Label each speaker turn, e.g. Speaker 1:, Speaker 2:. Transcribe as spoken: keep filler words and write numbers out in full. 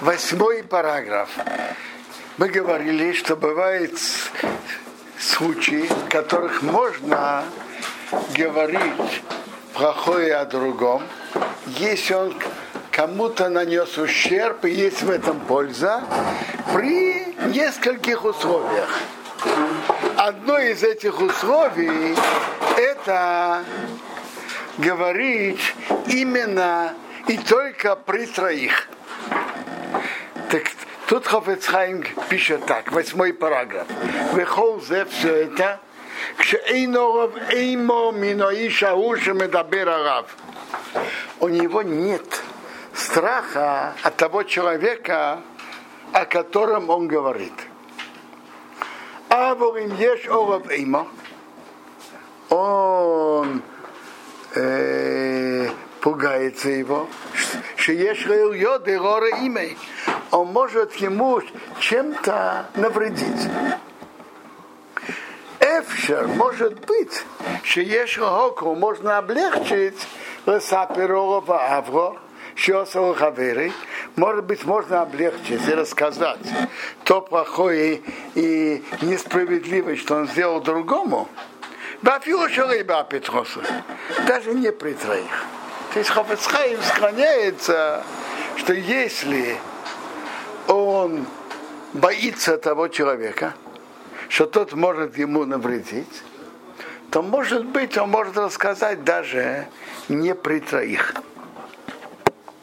Speaker 1: Восьмой параграф. Мы говорили, что бывают случаи, в которых можно говорить плохое о другом, если он кому-то нанес ущерб, и есть в этом польза, при нескольких условиях. Одно из этих условий – это говорить именно и только при троих. Так тут Хафец Хаим пишет так, восьмой параграф. Выхолзе все это, у него нет страха от того человека, о котором он говорит. А во им ешь оров эймо, он э, пугается его, что ешь йоды горы имей, он может ему чем-то навредить. Эфшер, может быть, что ешь хоку можно облегчить лесаперова авро, может быть, можно облегчить и рассказать то плохое и несправедливое, что он сделал другому, даже не при троих. То есть Хафец Хаим склоняется, что если он боится того человека, что тот может ему навредить, то, может быть, он может рассказать даже не при троих.